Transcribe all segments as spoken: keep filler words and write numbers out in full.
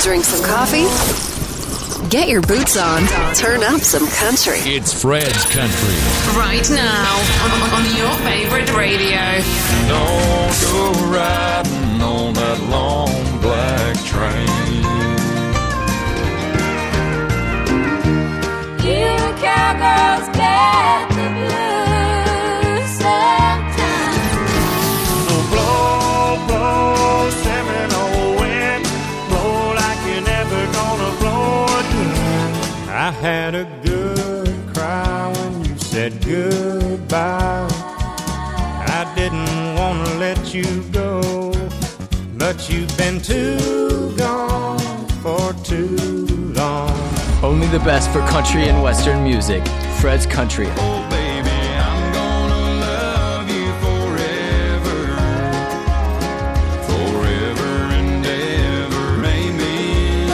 Drink some coffee? Get your boots on. Turn up some country. It's Fred's Country. Right now on, on your favorite radio. Don't go riding on that long black train. You cowgirls get the blues sometimes. So blow, blow, Seminole wind, blow like you're never gonna blow again. I had a good cry when you said goodbye. I didn't want to let you go, but you've been too gone for too long. Only the best for country and western music. Fred's Country. Oh baby, I'm gonna love you forever, forever and ever, amen.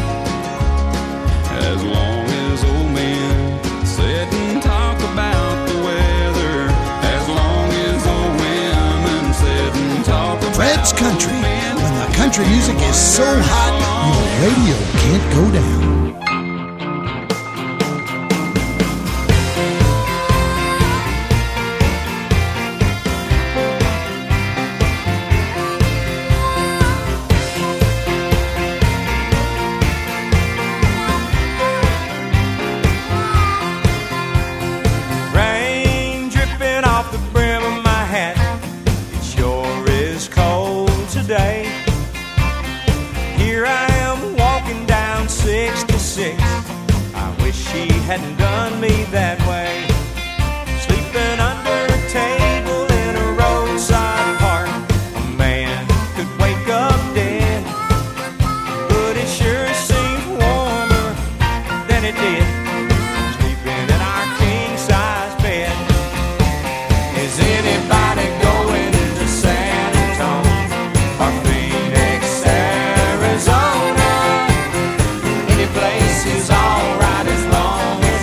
As long as old men sit and talk about the weather, as long as old women sit and talk about Fred's Country. When the country music is so hot, your radio can't go down. Hadn't done me that way. Sleeping under a table in a roadside park. A man could wake up dead, but it sure seems warmer than it did sleeping in our king-size bed. Is anybody going to San Antonio or Phoenix, Arizona? Any place is alright as long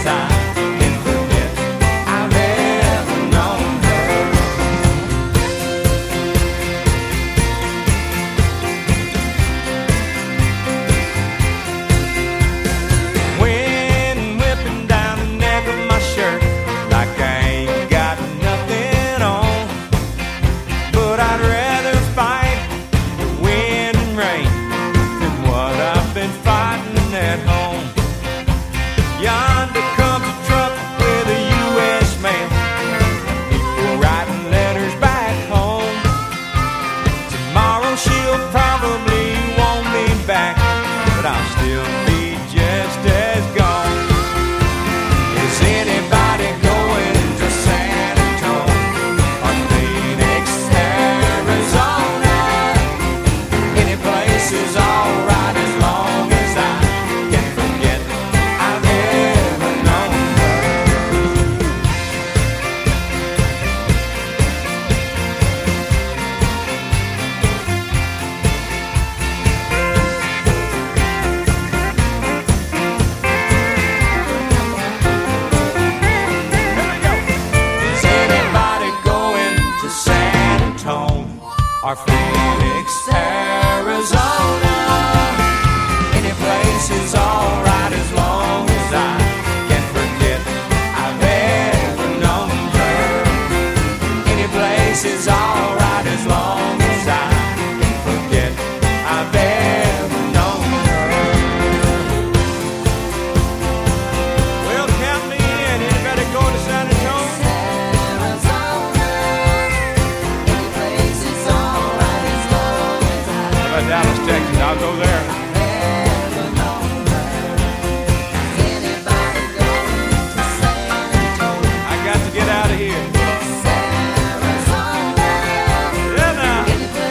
or Phoenix, Arizona. Any place is alright as long as I can forget I've ever known her. Any place is alright as long as I can forget I've ever known her. Well, count me in. Anybody going to San Antonio? Dallas, Texas, I'll go there. I got to get out of here. Yeah, now.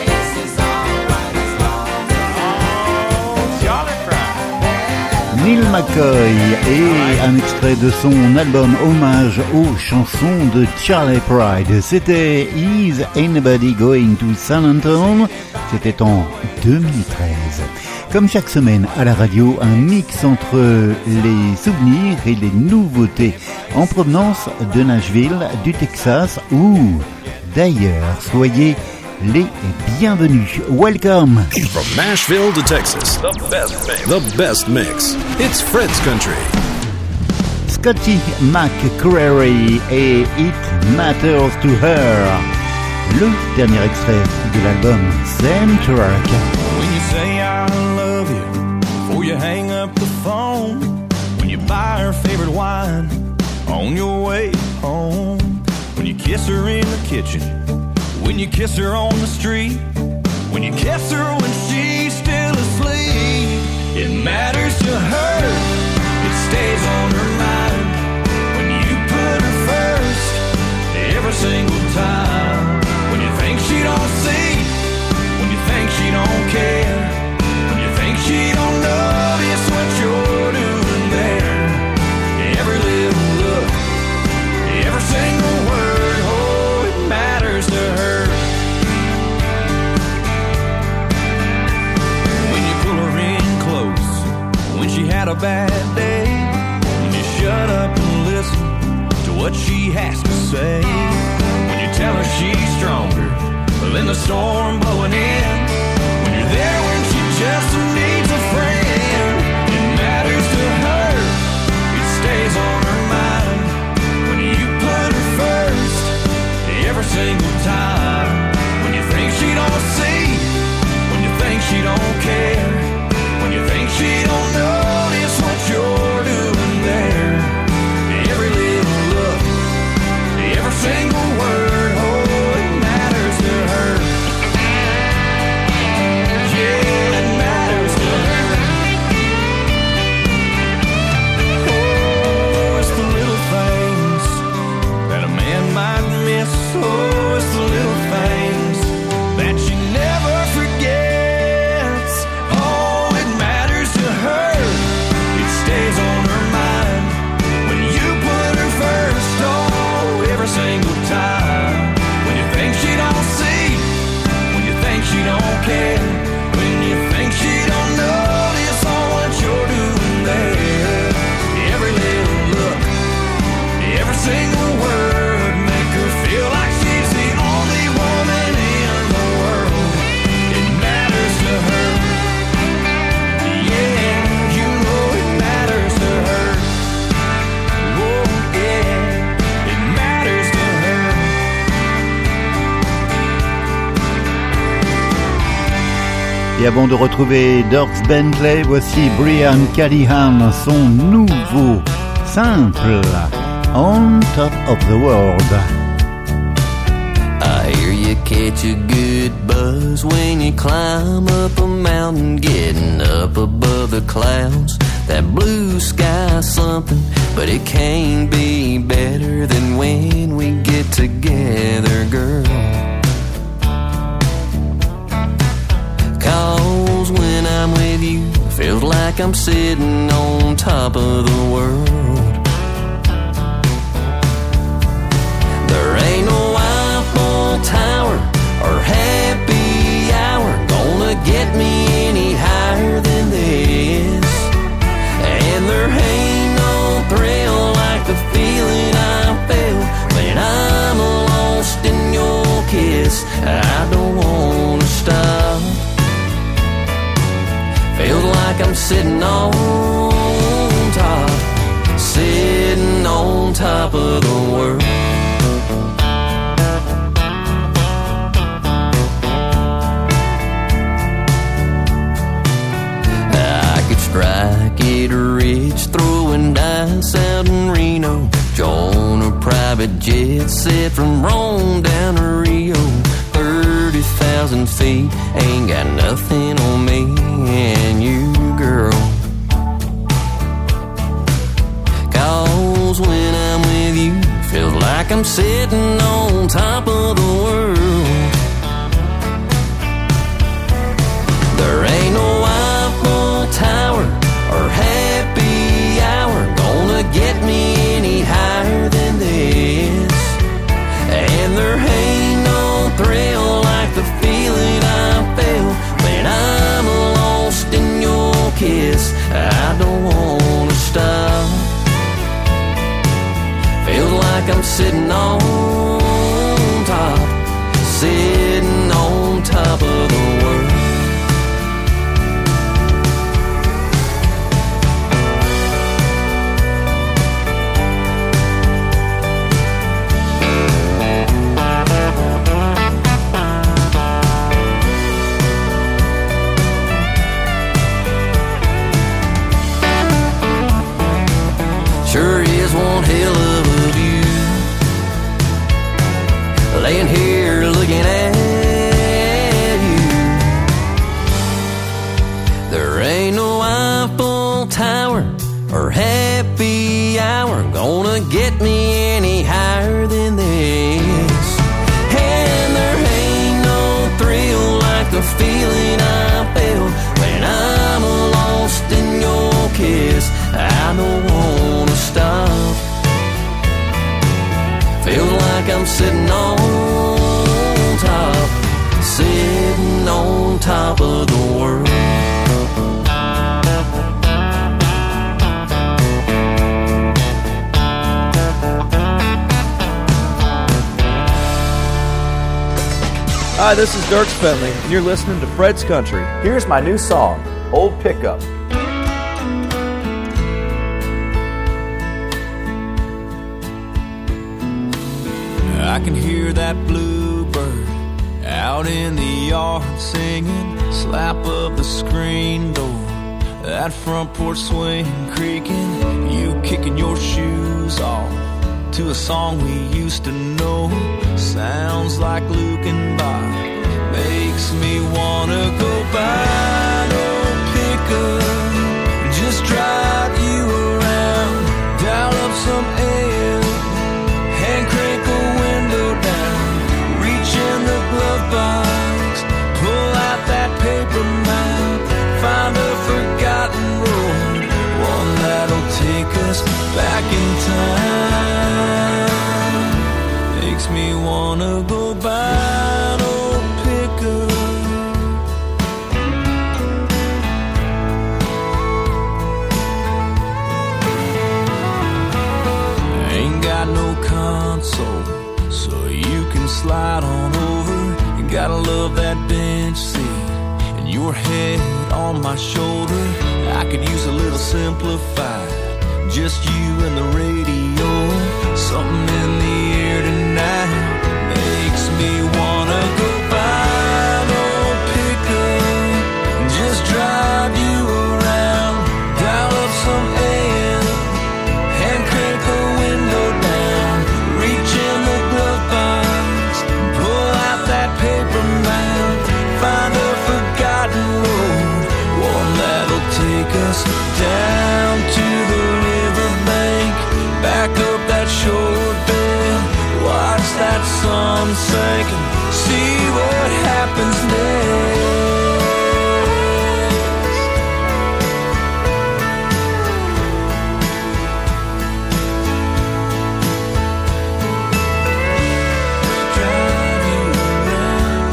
Oh, Charlie Fry. Neil McCoy et un extrait de son album hommage aux chansons de Charlie Pride. C'était Is Anybody Going to San Antonio? C'était en deux mille treize. Comme chaque semaine à la radio, un mix entre les souvenirs et les nouveautés en provenance de Nashville, du Texas ou d'ailleurs. Soyez les bienvenus. Welcome. From Nashville to Texas, the best mix. The best mix. It's Fred's Country. Scotty McCreery et It Matters to Her. Le dernier extrait de l'album Sam Track. When you say I love you before you hang up the phone, when you buy her favorite wine on your way home, when you kiss her in the kitchen, when you kiss her on the street, when you kiss her when she's still asleep, it matters to her, it stays on her mind. When you put her first every single time, when you think she don't see, when you think she don't care, when you think she don't notice what you're doing there, every little look, every single word, oh, it matters to her. When you pull her in close, when she had a bad day, when you shut up and listen to what she has to say, when you tell her she's stronger than the storm blowing in, when you're there when she just needs a friend, it matters to her, it stays on her mind. When you put her first every single time, when you think she don't see, when you think she don't care, when you think she don't notice what you're doing there, every little look, every single word, oh, it matters to her. Yeah, it matters to her. Oh, it's the little things that a man might miss. Oh, it's the little things that she never forgets. Oh, it matters to her, it stays on her mind. When you put her first, oh, every single time. When you think she don't see, when you think she don't care, when you think she don't notice all what you're doing there, every little look, every single word, make her feel like she's the only woman in the world. It matters to her. Yeah, you know it matters to her. Oh, yeah, it matters to her. Et avant de retrouver Dierks Bentley, voici Brian Callahan, son nouveau simple On Top of the World. I hear you catch a good buzz when you climb up a mountain, getting up above the clouds. That blue sky's something, but it can't be better than when we get together, girl. 'Cause when I'm with you, feels like I'm sitting on top of the world. There ain't no Eiffel Tower or happy hour gonna get me any higher than this. And there ain't no thrill like the feeling I feel when I'm lost in your kiss. I don't wanna stop. Feels like I'm sitting on top, sitting on top of the world. I could strike it rich, throwing dice out in Reno, join a private jet set from Rome down to Rio. thirty thousand feet, ain't got nothing on me and you, girl. 'Cause when I'm with you, feels like I'm sitting on top of the world. There ain't no Eiffel Tower or happy hour gonna get me any higher than this. And there ain't no thrill like the feeling I feel when I'm lost in your kiss. I don't wanna stop. Feels like I'm sitting on top, sitting on Tower or happy hour gonna get me any higher than this. And there ain't no thrill like the feeling I felt when I'm lost in your kiss. I don't wanna stop. Feel like I'm sitting on top, sitting on top of the world. Hi, this is Dirk Bentley, and you're listening to Fred's Country. Here's my new song, Old Pickup. I can hear that bluebird out in the yard singing, slap of the screen door, that front porch swing creaking, you kicking your shoes off to a song we used to know. Sounds like Luke and Bob, makes me wanna go buy no pickup, just drive you around, dial up some air and crank a window down, reach in the glove box, pull out that paper map, find a forgotten road, one that'll take us back in time. Makes me wanna go buy no pickup. Ain't got no console, so you can slide on over. You gotta love that bench seat and your head on my shoulder. I could use a little simplified, just you and the radio. Something in the air tonight makes me wanna go buy no pickup, just drive you around, dial up some air and crank a window down, reach in the glove box, pull out that paper map, find a forgotten road, one that'll take us down to the riverbank, back up that short bed, watch that sun sink and see what happens next. Drive you around.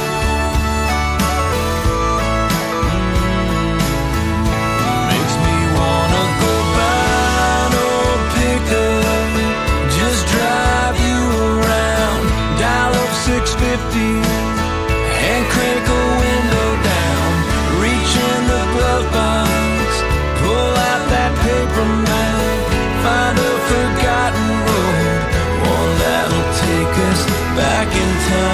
Mm-hmm. Makes me wanna go buy no pickup, just drive you around, dial up six fifty and crank a window down, reach in the glove box, pull out that paper map, find a forgotten road, one that'll take us back in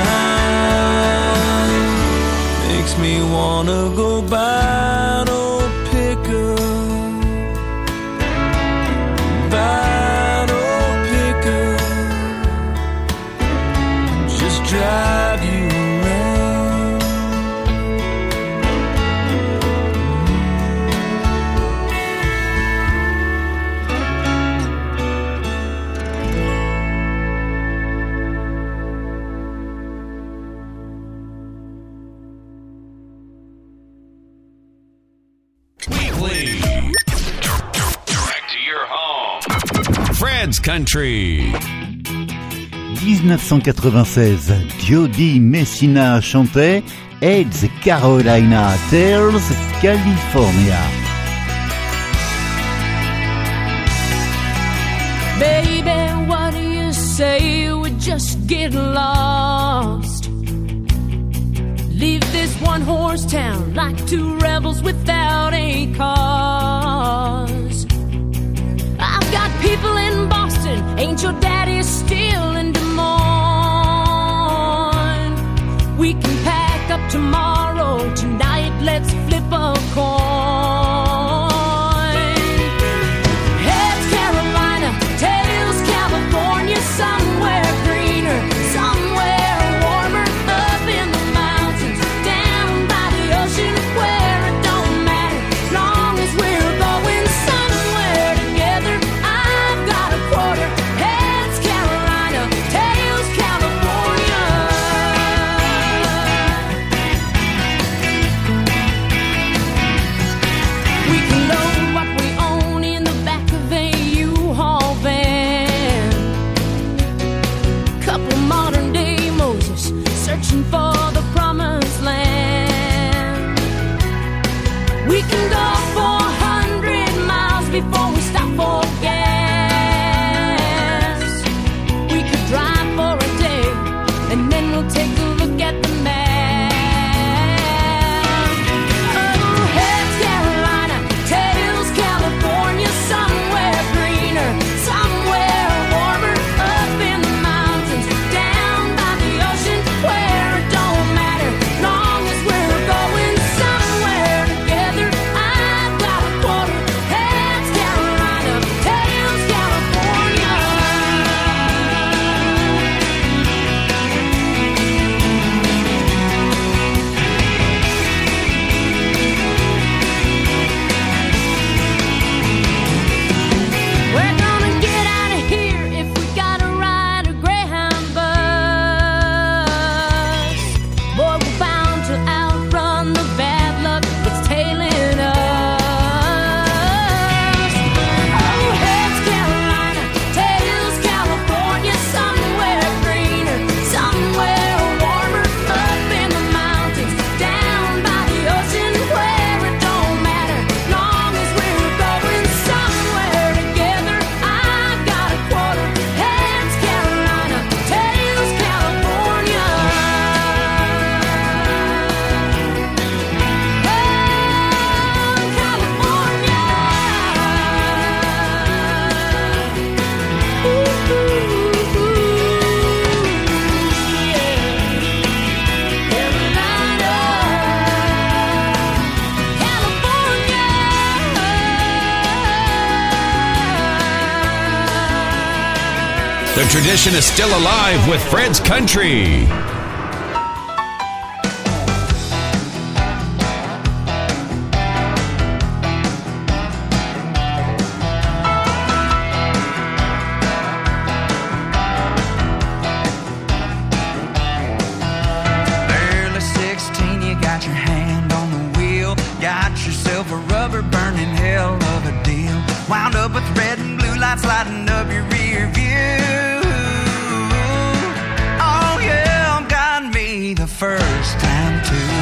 time. Makes me wanna go buy no pickup, buy no pickup, just drive you around. Weekly. Back to your home. Fred's Country. dix-neuf cent quatre-vingt-seize, Jody Messina chantait Ed's Carolina Tales, California. Baby, what do you say we just get lost? Leave this one-horse town like two rebels without a cause. I've got people in Boston, ain't your daddy still in Des Moines? We can pack up tomorrow, tonight let's flip a coin. Heads Carolina, tails California, somewhere greener, somewhere warmer, up in the mountains, down by the ocean, where it don't matter, as long as we're going We can go four hundred miles before we stop for gas. We could drive for a day, and then we'll take a look at the map. Oh, heads Carolina, tails California, somewhere greener, somewhere warmer, up in the mountains, down by the ocean, where it don't matter, long as we're going somewhere together. I've got a quarter, heads Carolina, tails California. We're gonna get out of here if we gotta ride a Greyhound bus. Boy, we're bound to outrun the bad luck that's tailing us. Oh, heads Carolina, tails California, somewhere greener, somewhere warmer, up in the mountains, down by the ocean, where it don't matter, long as we're going somewhere together. I've got a quarter, heads Carolina, tails California. The tradition is still alive with Fred's Country. Barely sixteen, you got your hand on the wheel. Got yourself a rubber burning hell of a deal. Wound up with red and blue lights lighting up your rear view. Oh yeah, got me the first time too.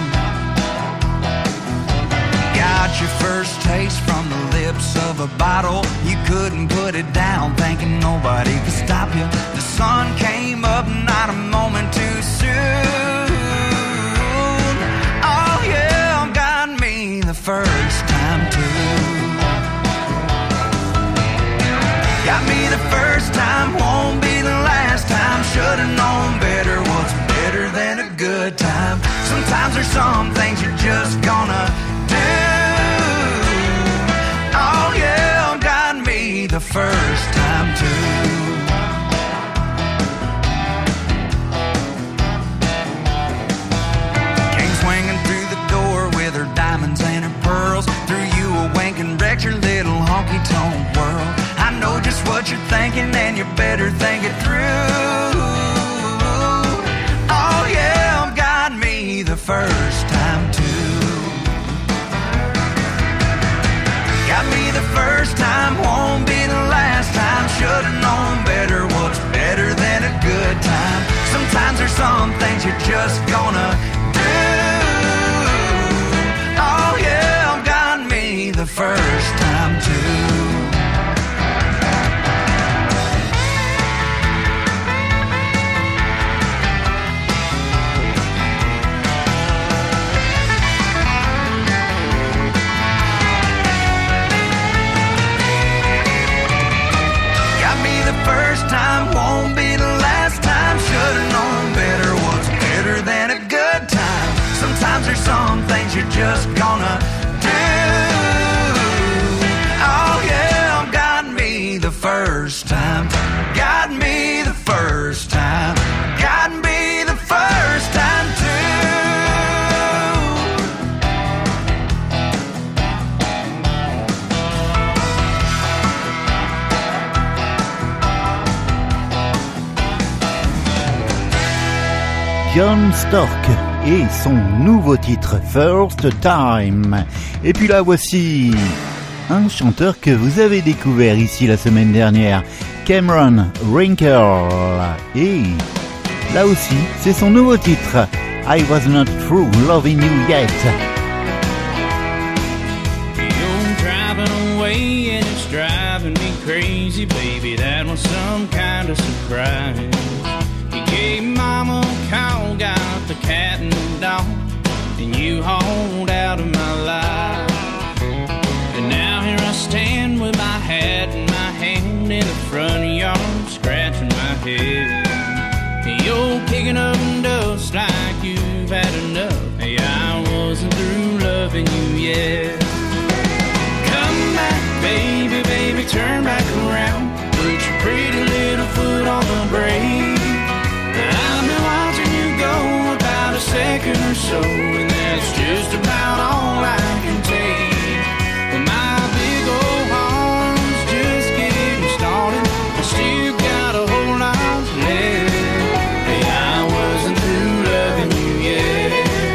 Got your first taste from the lips of a bottle. You couldn't put it down, thinking nobody could stop you. The sun came up, not a moment too soon. Oh yeah, got me the first time too. Got me the first time, won't be the last time. Should've known better, what's better than a good time? Sometimes there's some things you're just gonna do. Oh yeah, got me the first time too. Came swinging through the door with her diamonds and her pearls. Threw you a wink and wrecked your little honky-tonk world. I know just what you're thinking, and you better think it through. Oh yeah, got me the first time too. Got me the first time, won't be the last time. Should've known better, what's better than a good time? Sometimes there's some things you're just gonna do. Oh yeah, got me the first time too. First time, won't be the last time. Should've known better, what's better than a good time? Sometimes there's some things you're just gonna do. Oh yeah, got me the first time. Got me the first time. Got me the first time too. John Stork et son nouveau titre First Time. Et puis là voici un chanteur que vous avez découvert ici la semaine dernière, Cameron Wrinkle. Et là aussi, c'est son nouveau titre, I Was Not Through Loving You Yet. crazy, baby, that was some kind of surprise. You gave mama a call, got the cat and the dog, and you hauled out of my life. And now here I stand with my hat in my hand in the front yard, scratching my head. Hey, you're kicking up dust like you've had enough. Hey, I wasn't through loving you yet. Come back, baby, baby, turn back around. Put your pretty little foot on the brake. I've been watching you go about a second or so, and that's just about all I can take. But my big old heart's just getting started. I still got a whole lot left. Hey, I wasn't through loving you yet.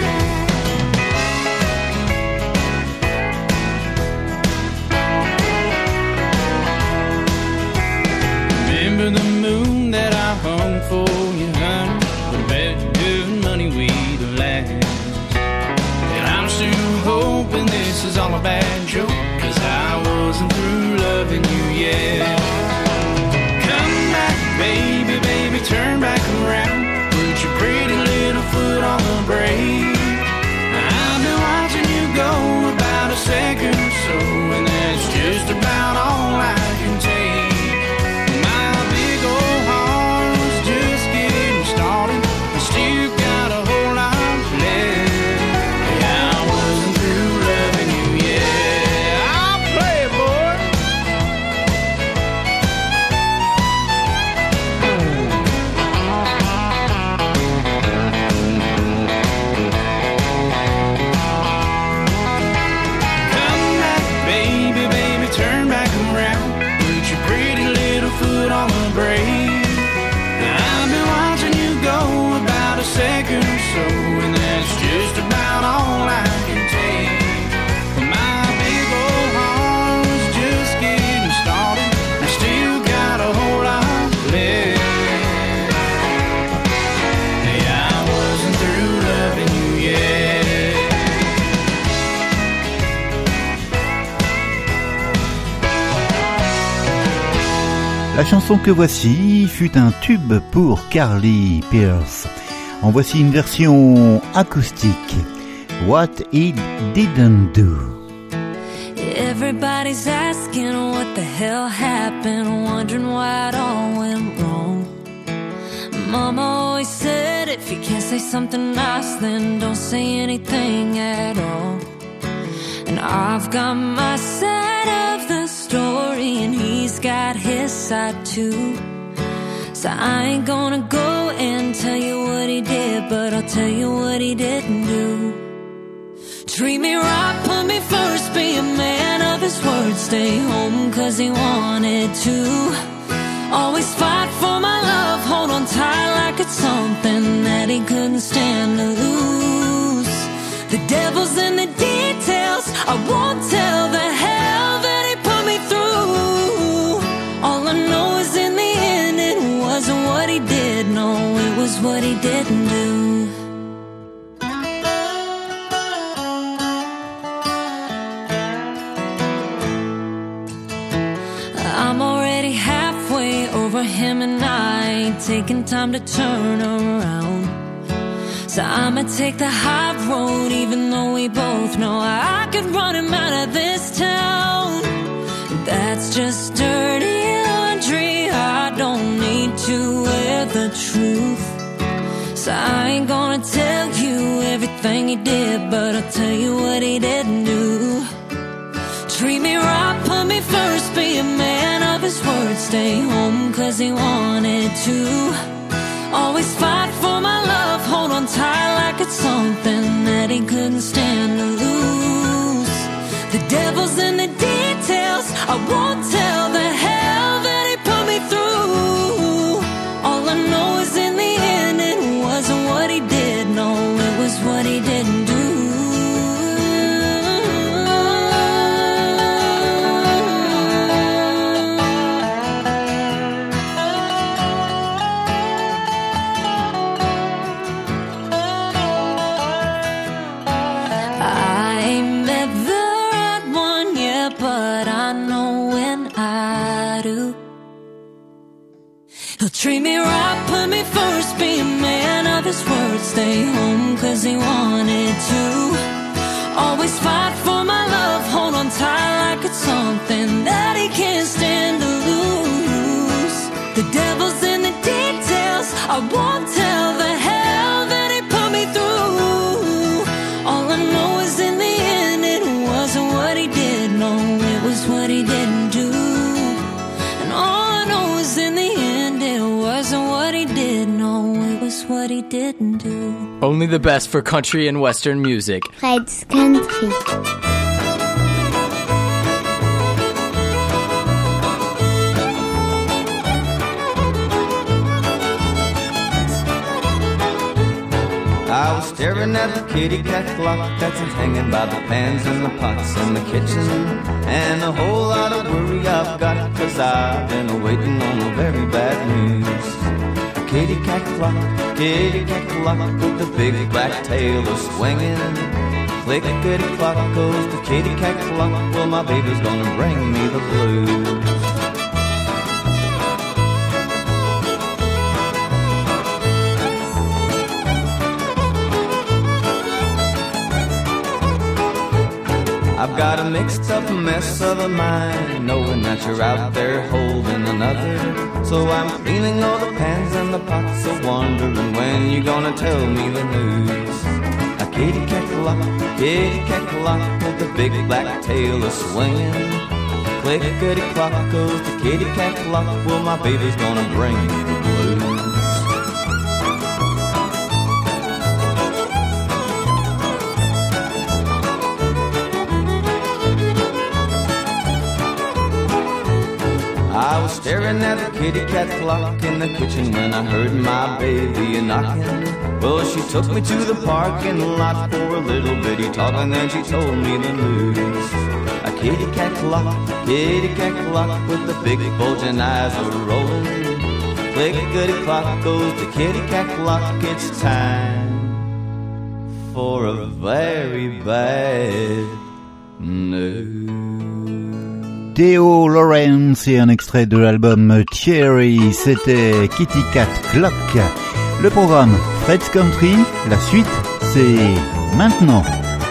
Remember the moon that I hung for you, honey? But I bet good money we'd last. And I'm still hoping this is all a bad joke, 'cause I wasn't through loving you yet. Come back, baby, baby, turn back around. Put your pretty little foot on the brake. I've been watching you go about a second or so, and that's just about all I can take. My big old heart's just getting started. I still got a whole lot left. Yeah, I wasn't through loving you yet. I'll play it, boy. Come back, baby, baby, turn back around. Put your pretty little foot on the brake. I've been watching you go about a second or so, and that's just about all I can take. My big old heart's just getting started. I still got a whole lot left. Hey, I wasn't through loving you yet. La chanson que voici fut un tube pour Carly Pearce. En voici une version acoustique. What It Didn't Do. Everybody's asking what the hell happened, wondering why it all went wrong. Mama always said if you can't say something nice, then don't say anything at all. And I've got my side of the story, and he's got his side too. So I ain't gonna go and tell you what he did, but I'll tell you what he didn't do. Treat me right, put me first, be a man of his word, stay home 'cause he wanted to. Always fight for my love, hold on tight like it's something that he couldn't stand to lose. The devil's in the details, I won't tell the hell that he put me through. All I know is in the end it wasn't what he did, no, it was what he didn't do. I'm already halfway over him and I ain't taking time to turn around. So I'ma take the high road even though we both know I could run him out of this town. That's just dirty laundry, I don't need to wear the truth. So I ain't gonna tell you everything he did, but I'll tell you what he didn't do. Treat me right, put me first, be a man of his word, stay home 'cause he wanted to. Always fight for my love, hold on tight like it's something that he couldn't stand to lose. The devil's in the details, I won't tell the hell that he put me through. All I know is in the end it wasn't what he did, no, it was what he didn't do. I ain't met the right one yet, but I know when I Treat me right, put me first, be a man of his word. Stay home cause he wanted to. Always fight for my love, hold on tight like it's something that he can't stand to lose. The devil's in the details, I won't tell the hell that he put me through. All I know is in the end it wasn't what he did, no, it was what he didn't do. And all I know is in the end it wasn't what he did, no, it was what he didn't do. Only the best for country and western music. Fred's Country. I was staring at the kitty cat clock that's hanging by the pans and the pots in the kitchen. And a whole lot of worry I've got, cause I've been waiting on a very bad news. Kitty cat clock, kitty cat clock, with the big black tail a swinging. Clickety clock goes the kitty cat clock, well my baby's gonna bring me the blues. I've got a mixed up mess of a mind, knowing that you're out there holding another. So I'm cleaning all the pans and the pots, so wondering when you're gonna tell me the news. A kitty cat clock, kitty cat clock, with the big black tail a swinging. Clickety clock goes the kitty cat clock, well my baby's gonna bring me the blues. I was staring at the kitty cat clock in the kitchen when I heard my baby knocking. Well, she took me to the parking lot for a little bitty talk, and then she told me the news. A kitty cat clock, kitty cat clock, with the big bulging eyes are rolling. Clickety clock goes the kitty cat clock, it's time for a very bad news. Theo Lawrence et un extrait de l'album Cherry, c'était Kitty Cat Clock. Le programme Fred's Country, la suite c'est maintenant.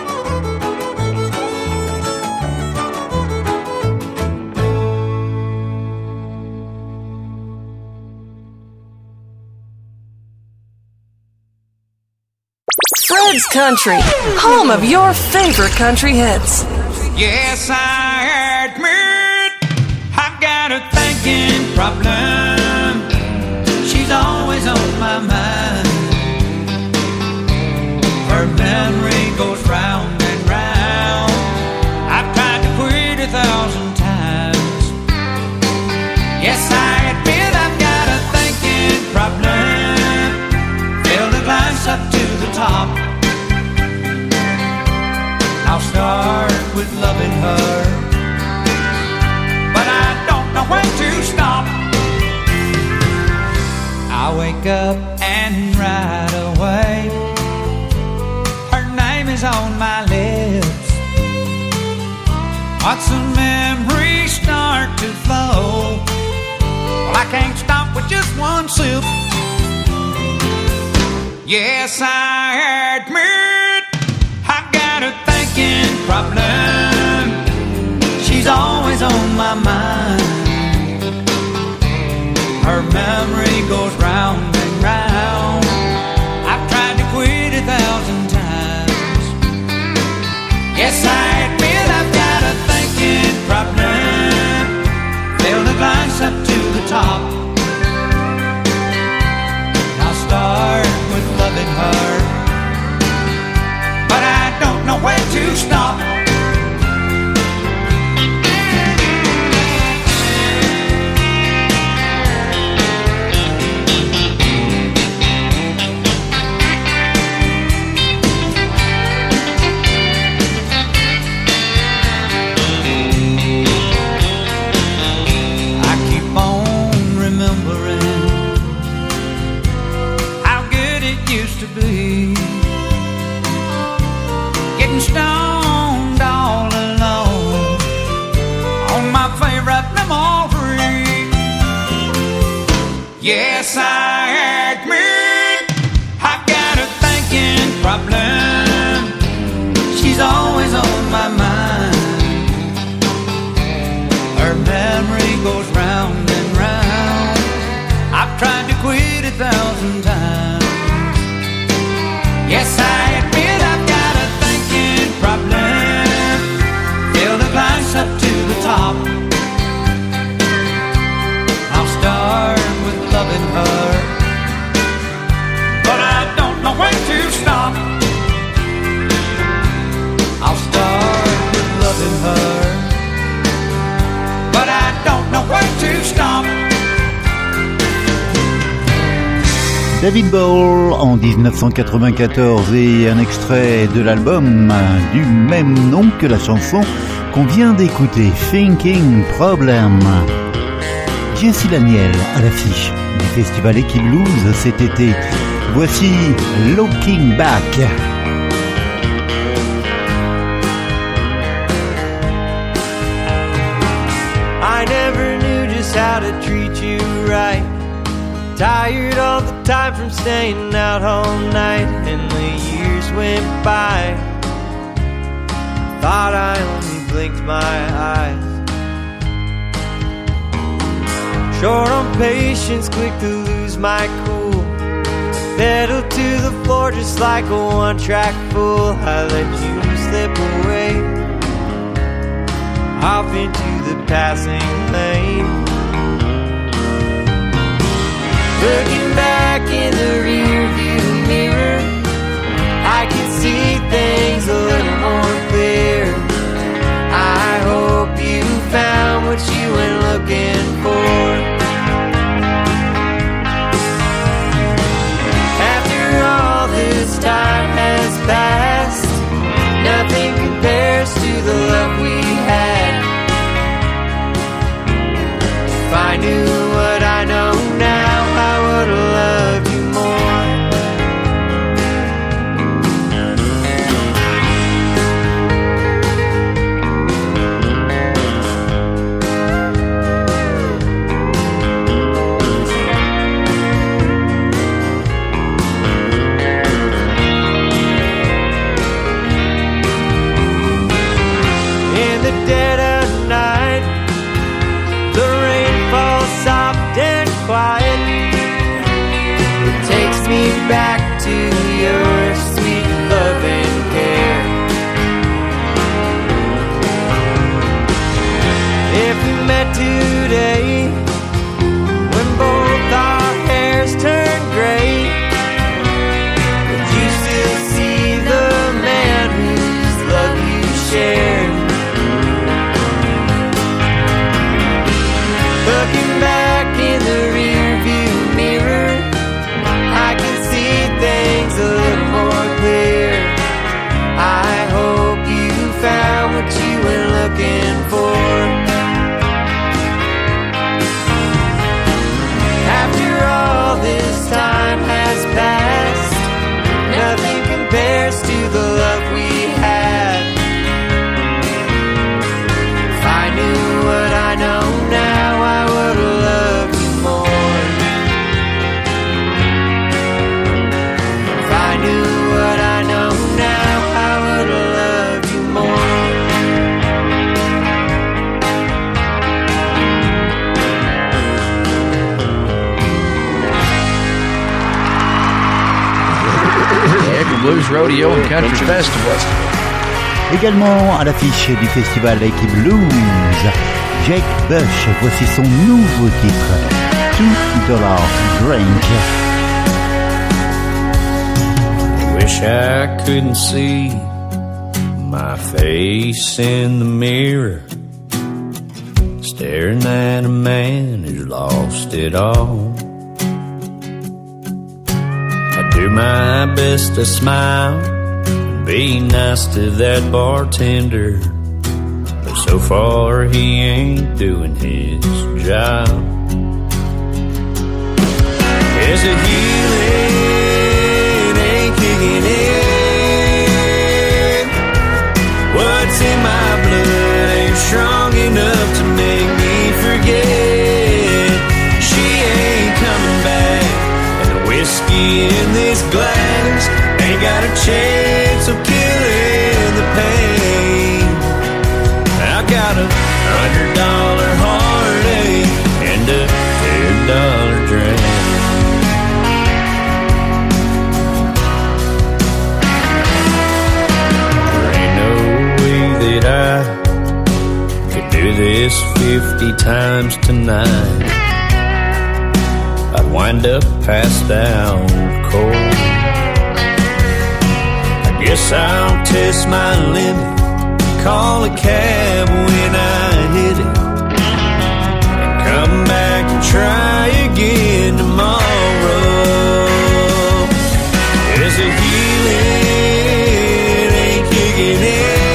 Fred's Country, home of your favorite country hits. Yes, I admit I've got a thinking problem. She's always on my mind. Her memory goes round and round. I've tried to quit a thousand times. Yes, I admit I've got a thinking problem. Fill the glass up to the top. I'll start with loving her, but I don't know when to stop. I wake up and right away her name is on my lips. Watch the memories start to flow. Well, I can't stop with just one sip. Yes, I admit I've got a thinking problem. She's always on my mind. Her memory goes round and round. I've tried to quit a thousand times. Yes, I admit I've got a thinking problem. Fill the glass up to the top. I'll start with loving her, but I don't know when to stop. I keep on remembering how good it used to be. Getting stoned my mind. Her memory goes round and round. I've tried to quit a thousand times. Yes, I admit I've got a thinking problem. Fill the glass up to the top. I'll start with loving her, but I don't know when to stop. I'll start with loving her, but I don't know when to stop. David Bowie en dix-neuf cent quatre-vingt-quatorze et un extrait de l'album du même nom que la chanson qu'on vient d'écouter, Thinking Problem. Jesse Daniel à l'affiche du festival Equiblues cet été. Voici Looking Back. I never knew just how to treat you right. Tired all the time from staying out all night, and the years went by. Thought I only blinked my eyes. Short on patience, quick to lose my cool. Pedal to the floor just like a one-track fool. I let you slip away off into the passing lane. Looking back in the rearview mirror, I can see things a little more clear. I hope you found what you went looking for. After all this time has passed, nothing compares to the love we had. If I knew what I know now, I would have loved you more. In the dead of night, the rain falls soft and quiet. It takes me back to your sweet love and care. If we met today, when both our hairs turn gray, would you still see the man whose love you shared? Looking back in the rearview mirror, I can see things a little more clear. I hope you found what you were looking for. After all this time has passed, nothing compares to the love we had. If I knew what I know now, I would have loved you more. If I knew what I know now, I would have loved you more. Blues Rodeo and Country Festival. Également à l'affiche du festival Equiblues, Jake Bush, voici son nouveau titre, two dollars Drink. Wish I couldn't see my face in the mirror, staring at a man who's lost it all. I do my best to smile and be nice to that bartender, but so far he ain't doing his job. There's a healing ain't kicking in. What's in my blood ain't strong enough to make me forget. She ain't coming back, and the whiskey in this glass ain't got a chance of killing the pain. this fifty times tonight, I'd wind up passed out cold. I guess I'll test my limit, call a cab when I hit it, and come back and try again tomorrow. There's a healing ain't kicking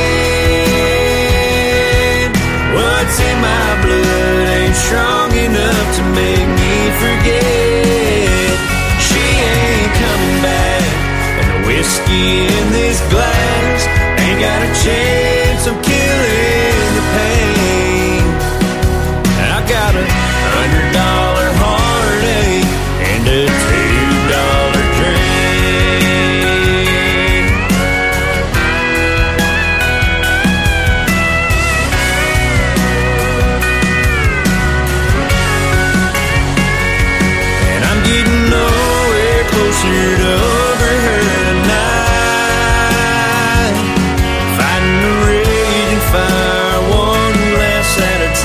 in. What's in my blood ain't strong enough to make me forget. She ain't coming back, and the whiskey in this glass ain't got a chance of killing the pain. I got a hundred dollar heartache and a two dollar drink. And I'm getting nowhere closer to over her tonight, fighting the raging fire one glass at a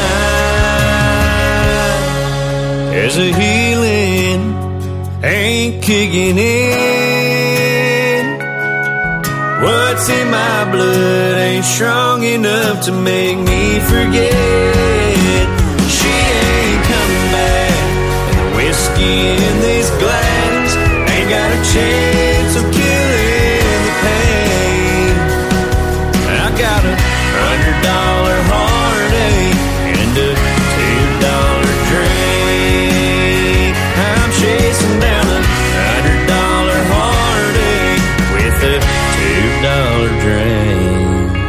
time. There's a healing ain't kicking in. What's in my blood ain't strong enough to make me forget. She ain't coming back, and the whiskey in this glass ain't got a chance of killing the pain. I got a hundred dollar heartache and a two dollar drink. I'm chasing down a hundred dollar heartache with a two dollar drink.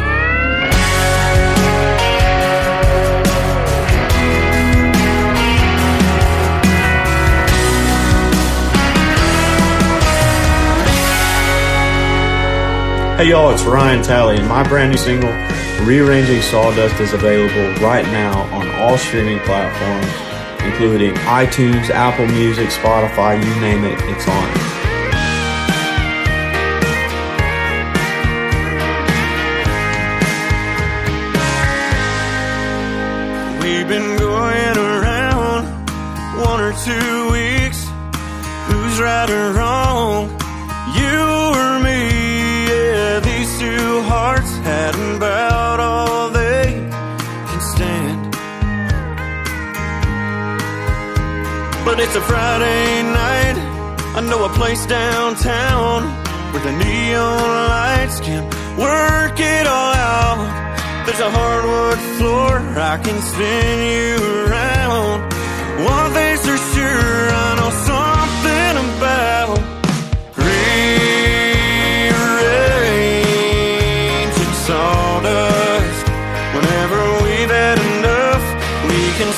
Hey y'all, it's Ryan Talley, and my brand new single, Rearranging Sawdust, is available right now on all streaming platforms, including iTunes, Apple Music, Spotify, you name it, it's on it. We've been going around one or two weeks. Who's right or wrong? You or me? Yeah, these two hearts hadn't bowed all they can stand. But it's a Friday night. I know a place downtown where the neon lights can work it all out. There's a hardwood floor I can spin you around. One thing's for sure, I know something about rearranging sawdust. Whenever we've had enough, we can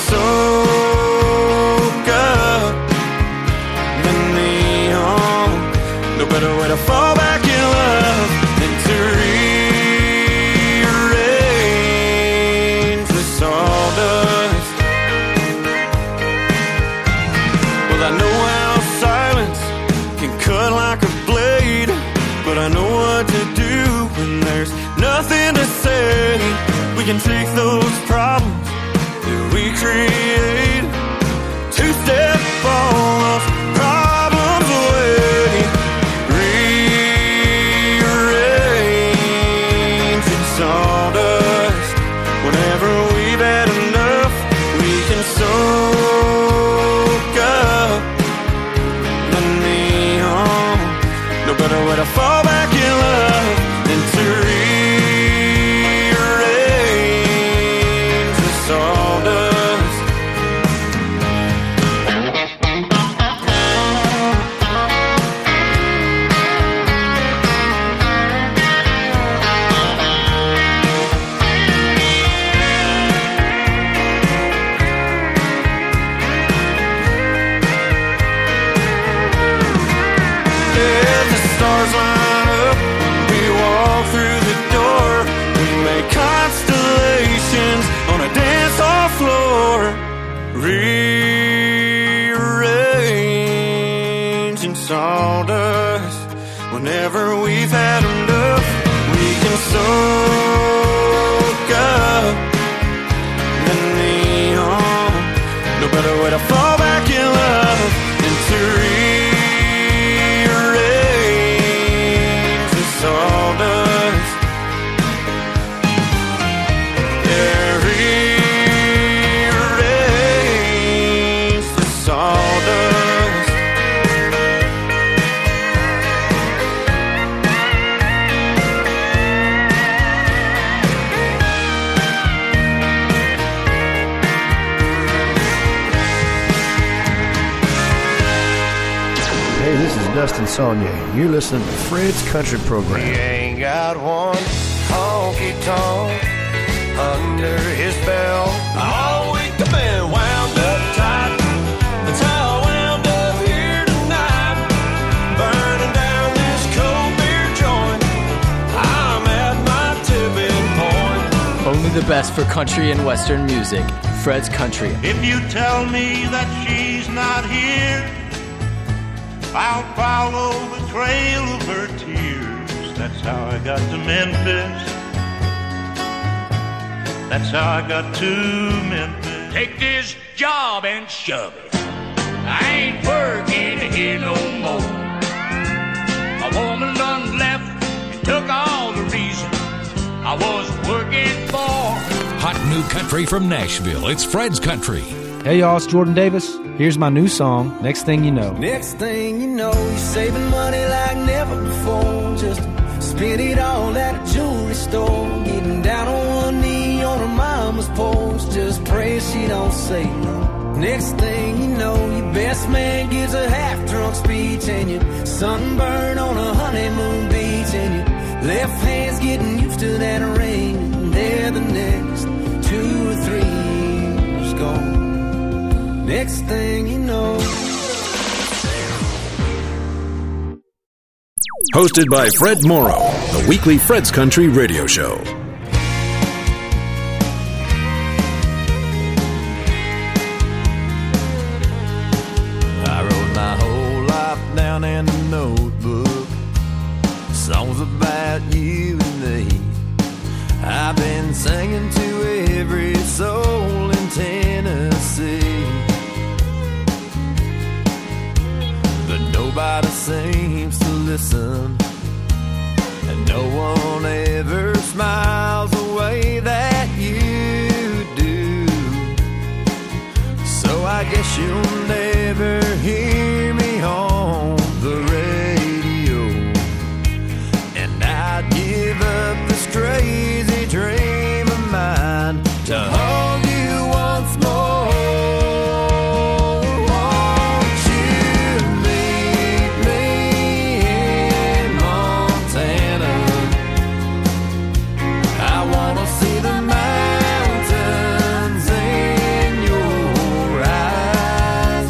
soak up the neon. No better way to fall back in love than to rearrange the sawdust. Well, I know how silence can cut like a blade, but I know what to do when there's nothing to say. We can take those problems that we create, two-step all those problems away. Rearranging sawdust. Whenever we've had enough, we can soak up the neon. No better way to fall back in love than to rearrange the sawdust. If the stars line up, we walk through the door. We make constellations on a dance hall floor. Rearranging sawdust. Whenever we've had enough, we can soak up Dustin Saunier, and you're listening to Fred's Country Program. He ain't got one honky-tonk under his belt. All week I've been wound up tight. That's how I wound up here tonight. Burning down this cold beer joint. I'm at my tipping point. Only the best for country and western music. Fred's Country. If you tell me that she's not here, I'll follow the trail of her tears. That's how I got to Memphis. That's how I got to Memphis. Take this job and shove it. I ain't working here no more. A woman done left and took all the reason I was working for. Hot new country from Nashville. It's Fred's Country. Hey y'all, it's Jordan Davis. Here's my new song, Next Thing You Know. Next thing you know, you're saving money like never before. Just spend it all at a jewelry store. Getting down on one knee on her mama's porch. Just pray she don't say no. Next thing you know, your best man gives a half-drunk speech, and you're sunburned on a honeymoon beach, and your left hand's getting used to that ring. And there the next two or three years gone. Next thing you know. Hosted by Fred Morrow, the weekly Fred's Country radio show. I wrote my whole life down in a notebook, songs about you and me. I've been singing to every soul in Tennessee, but nobody seems to listen, and no one ever smiles the way that you do. So I guess you'll never hear me on the radio, and I'd give up this crazy dream of mine to hold you once more. Won't you meet me in Montana? I wanna see the mountains in your eyes.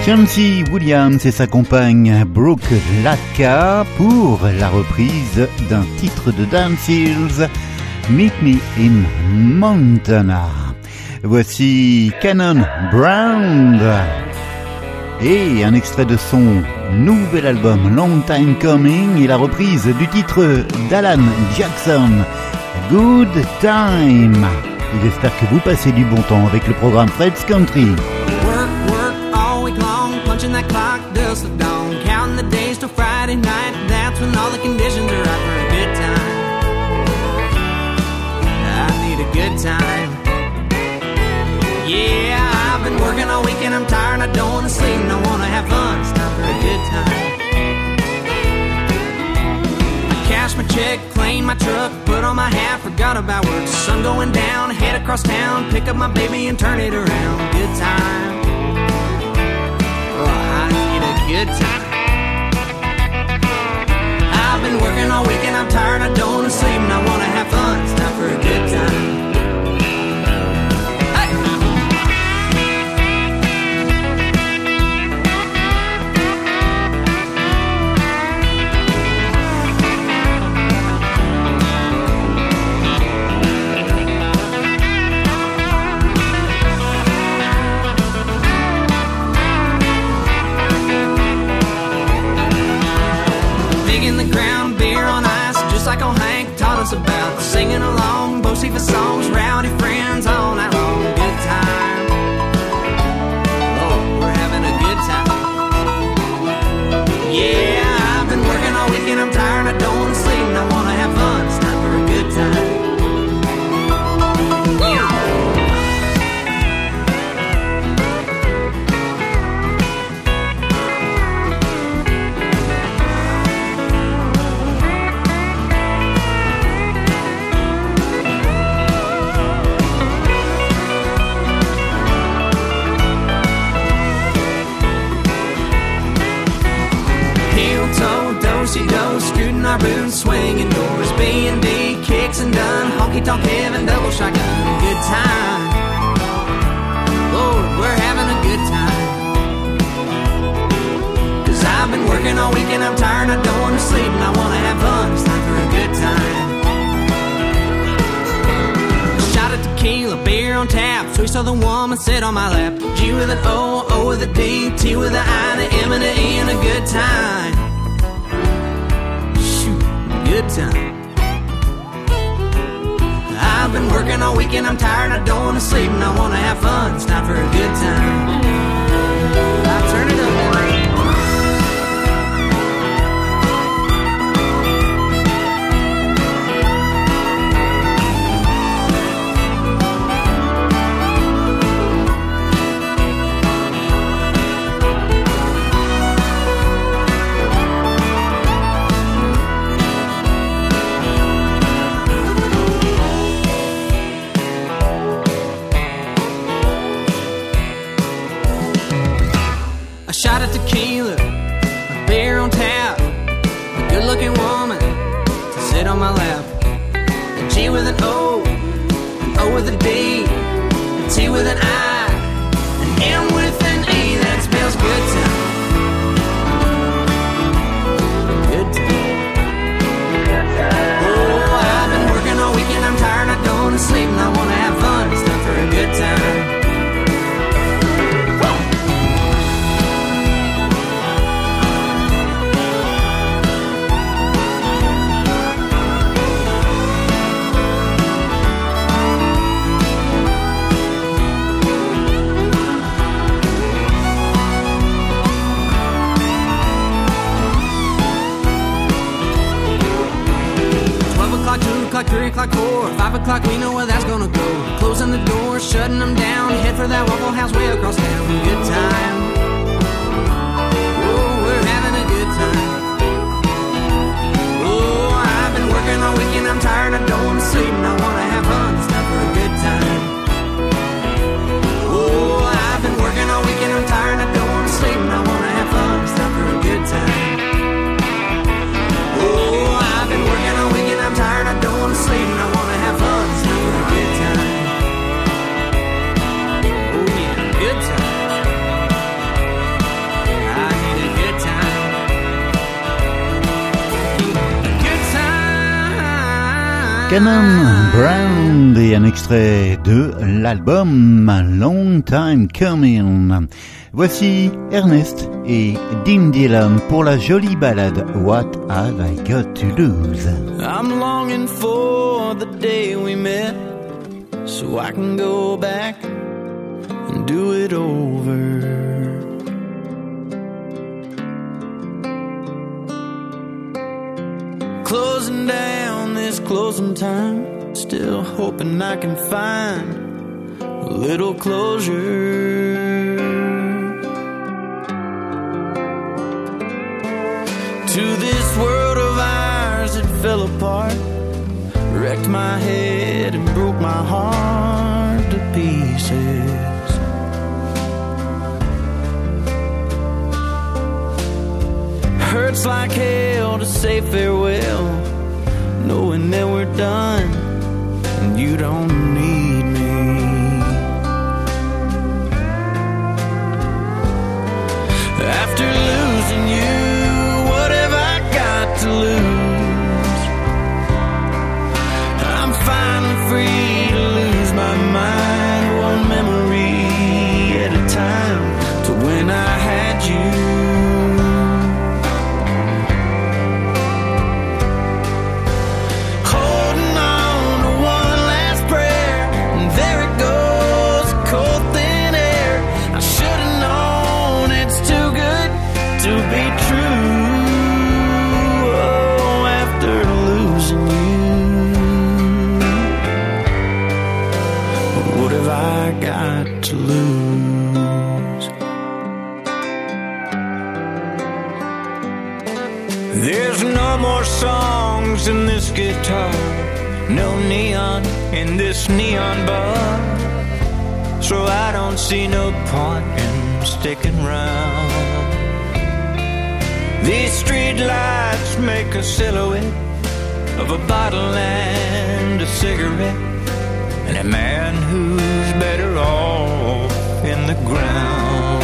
Chauncey Williams et sa compagne Brooke Latka pour la reprise d'un titre de Dan Seals, Meet Me in Montana. Voici Cannon Brown et un extrait de son nouvel album Long Time Coming et la reprise du titre d'Alan Jackson, Good Time. J'espère que vous passez du bon temps avec le programme Fred's Country. Work, work all week long, punching that clock dust the dawn, counting the days till Friday night. That's when all the conditions are right for a good time. I need a good time. Yeah, I've been working all week and I'm tired. I don't want to sleep and I want to have fun. It's time for a good time. Cash my check, clean my truck, put on my hat, forgot about work. Sun going down, head across town, pick up my baby and turn it around. Good time. Oh, I need a good time. I've been working all week and I'm tired, I don't want to sleep and I want to have fun. It's time for a good time. Like old Hank taught us about, singing along, Bocephus songs, rowdy friends all night long. Good time. Oh, we're having a good time. Yeah, I've been working all week and I'm tired. I don't want to sleep and I want to have fun. It's time for a good time. Do, scooting our boots, swinging doors, B and B, kicks and done, honky-tonk heaven, double shotgun, good time. Lord, we're having a good time. Cause I've been working all week and I'm tired, I don't want to sleep and I want to have fun. It's time for a good time. Shot of tequila, beer on tap, sweet southern woman sit on my lap. G with an O, O with a D, T with an I, and an M and an E, and a good time. Good time. I've been working all week and I'm tired, I don't want to sleep and I want to have fun. It's time for a good time. I'll turn it up, man. Shot of tequila, a beer on tap, a good-looking woman to sit on my lap. A G with an O, an O with a D, a T with an I, an M with an E, that spells good time. Good time. Oh, I've been working all week and I'm tired, I don't want to sleep and I want to have fun. It's time for a good time. O'clock, three o'clock, four, five o'clock, we know where that's gonna go. Closing the door, shutting them down, head for that Waffle House way across town. Good time. Oh, we're having a good time. Oh, I've been working all week and I'm tired, I don't want to sleep and I want to have fun. It's time for a good time. Oh, I've been working all week and I'm tired, I don't want to sleep and I want to have fun. It's time for a good time. Oh, I've been working all week and I'm tired, I don't want to sleep and I want to have fun. It's time for a good time. Oh yeah, good time. Shannon Brown et un extrait de l'album Long Time Coming. Voici Ernest et Dean Dillon pour la jolie ballade What Have I Got to Lose. I'm longing for the day we met, so I can go back and do it over. Closing down this closing time, still hoping I can find a little closure. To this world of ours, it fell apart, wrecked my head and broke my heart to pieces. Hurts like hell to say farewell, knowing that we're done and you don't need me. After losing you, what have I got to lose? I'm finally free to lose my mind, one memory at a time, to when I had you. To lose. There's no more songs in this guitar, no neon in this neon bar, so I don't see no point in sticking around. These street lights make a silhouette of a bottle and a cigarette, and a man who's better off in the ground.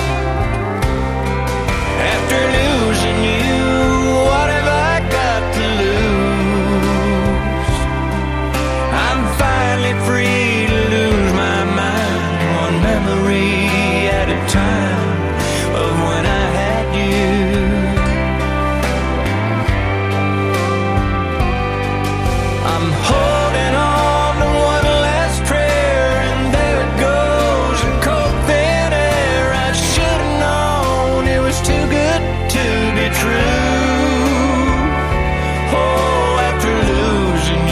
After losing you, what have I got to lose? I'm finally free to lose my mind, one memory at a time, of when I had you. I'm holding on to one last prayer, and there it goes in cold thin air. I should have known it was too good to be true. Oh, after losing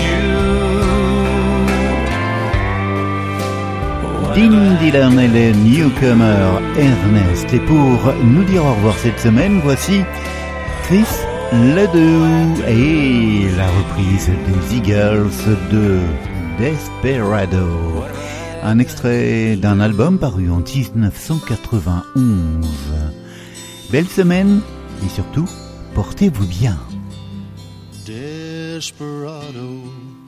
you. Dean Dillon et le newcomer Ernest. Et pour nous dire au revoir cette semaine, voici Chris Ledoux et la reprise des Eagles de Desperado. Un extrait d'un album paru en dix-neuf cent quatre-vingt-onze. Belle semaine et surtout, portez-vous bien. Desperado,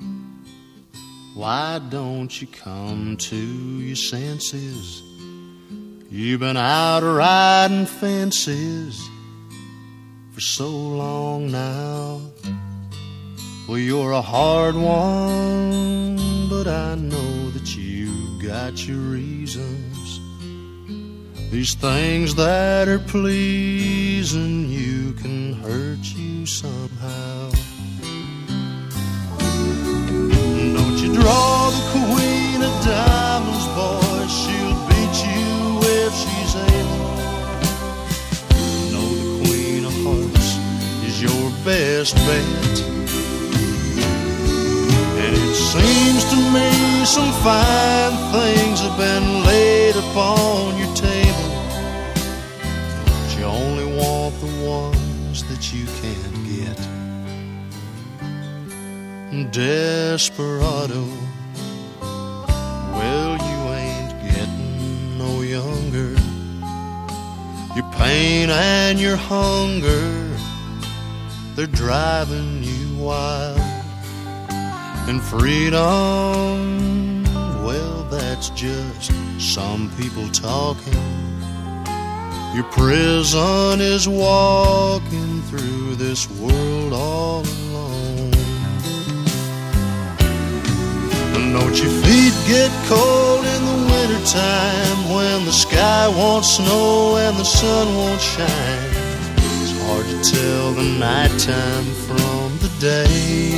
why don't you come to your senses? You've been out riding fences for so long now. Well, you're a hard one, but I know that you've got your reasons. These things that are pleasing you can hurt you somehow. Don't you draw the queen of diamonds, boy, she'll beat you if she's able. Your best bet, and it seems to me some fine things have been laid upon your table, but you only want the ones that you can't get. Desperado, well, you ain't getting no younger. Your pain and your hunger, they're driving you wild. And freedom, well, that's just some people talking. Your prison is walking through this world all alone. Don't your feet get cold in the wintertime when the sky won't snow and the sun won't shine? It's hard to tell the nighttime from the day.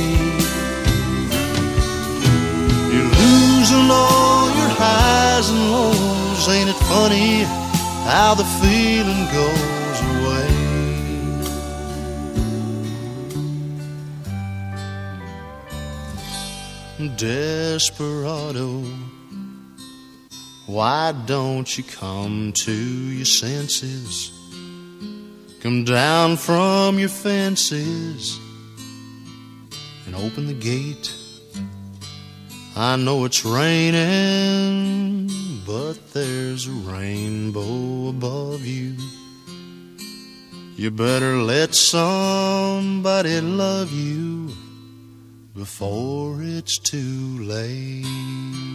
You're losing all your highs and lows. Ain't it funny how the feeling goes away? Desperado, why don't you come to your senses? Come down from your fences and open the gate. I know it's raining, but there's a rainbow above you. You better let somebody love you before it's too late.